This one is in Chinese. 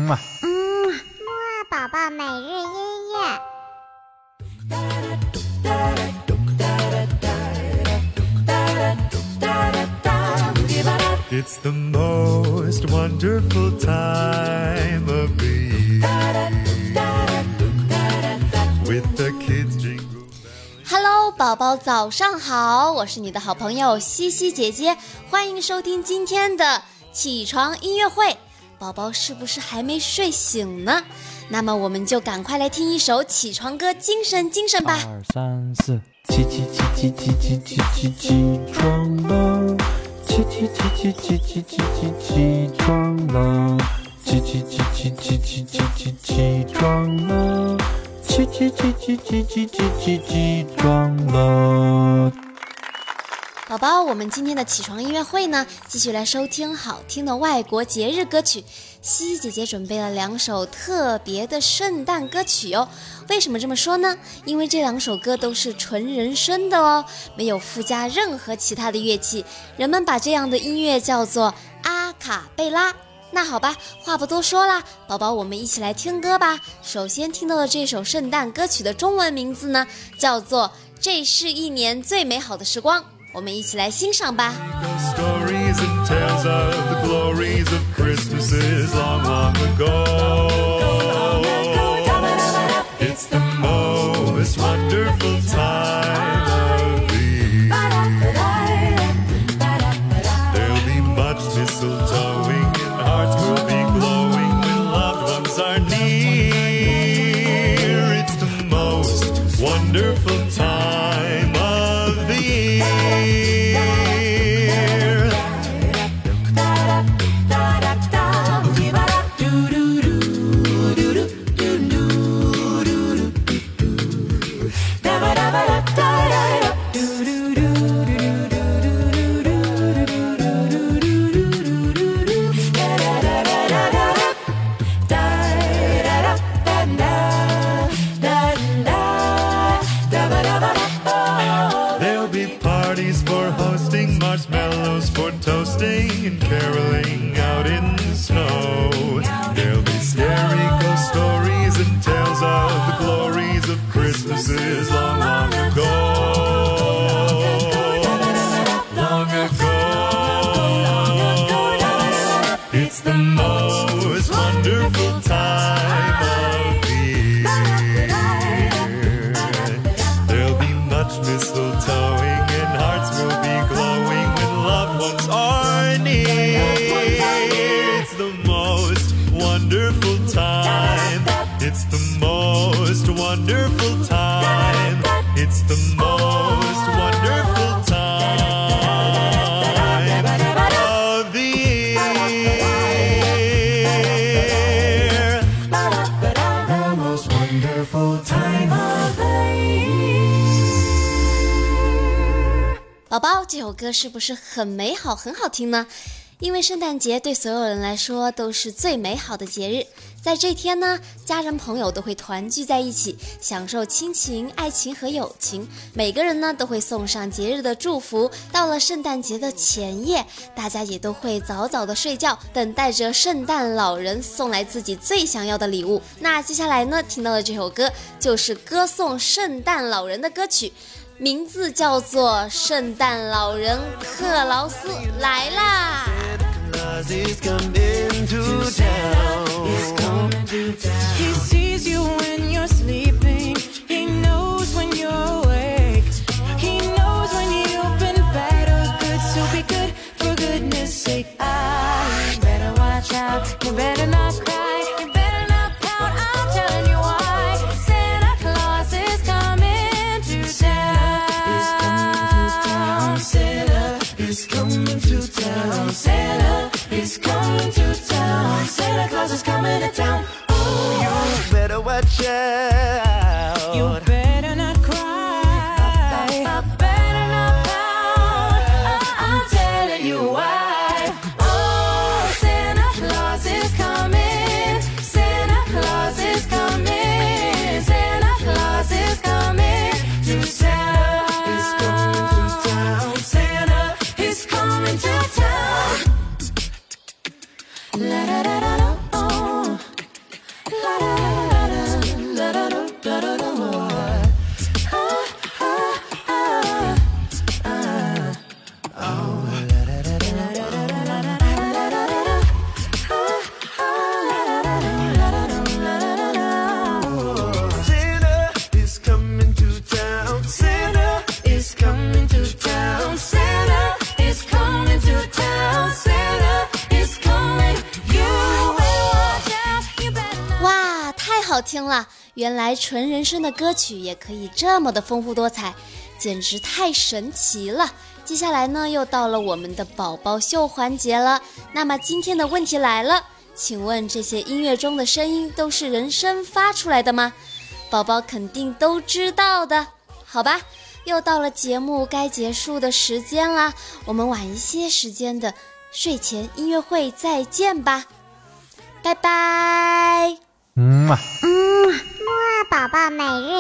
木啊宝宝每日音乐。 It's the most wonderful time of the year with the kids jingle. Hello， 宝宝早上好，我是你的好朋友西西姐姐，欢迎收听今天的起床音乐会。宝宝是不是还没睡醒呢？那么我们就赶快来听一首起床歌，精神精神吧。 2、3、4，起床了，起床了，起床了，起床了。 宝宝，我们今天的起床音乐会呢，继续来收听好听的外国节日歌曲。西西姐姐准备了2首特别的圣诞歌曲哦。为什么这么说呢？因为这2首歌都是纯人声的哦，没有附加任何其他的乐器，人们把这样的音乐叫做阿卡贝拉。那好吧，话不多说啦，宝宝，我们一起来听歌吧。首先听到的这首圣诞歌曲的中文名字呢，叫做《这是一年最美好的时光》。我们一起来欣赏吧。 Stories and tales of the glories of Christmases long, long ago. It's the most wonderful time of the year. There'll be much mistletoeing and hearts will be glowing when loved ones are near. It's the most wonderful time of the year. There'll be parties for hosting, marshmallows for toasting, and caroling out in the snow. There'll be scary ghost stories and tales of the glories of Christmases long, long ago. Long ago. It's the most wonderful time of the year. There'll be much mistletoeing and hearts will be glowing when loved ones are near. It's the most wonderful time. It's the most wonderful time. It's the most wonderful time of the year. The most wonderful time of the year. 宝宝，这首歌是不是很美好很好听呢？因为圣诞节对所有人来说都是最美好的节日，在这天呢，家人朋友都会团聚在一起，享受亲情、爱情和友情。每个人呢都会送上节日的祝福。到了圣诞节的前夜，大家也都会早早的睡觉，等待着圣诞老人送来自己最想要的礼物。那接下来呢，听到的这首歌就是歌颂圣诞老人的歌曲，名字叫做《圣诞老人克劳斯来啦》。 He's coming to town. He sees you when you're sleeping. He knows when you're awake. He knows when you've been bad or good. So be good for goodness sake. You better watch out. You better not cry. You better not pout. I'm telling you why. Santa Claus is coming to town. Santa is coming to town. Santa is coming to town. Santa Claus is coming to town. Oh, you better watch out. You better not cry. Better not pout. I'm telling you why. Oh, Santa Claus is coming. Santa Claus is coming. Santa Claus is coming to town. Santa is coming to town. La da da da da. Oh. 好听了，原来纯人声的歌曲也可以这么的丰富多彩，简直太神奇了。接下来呢，又到了我们的宝宝秀环节了。那么今天的问题来了，请问这些音乐中的声音都是人声发出来的吗？宝宝肯定都知道的，好吧？又到了节目该结束的时间啦，我们晚一些时间的睡前音乐会再见吧，拜拜。 木啊宝宝每日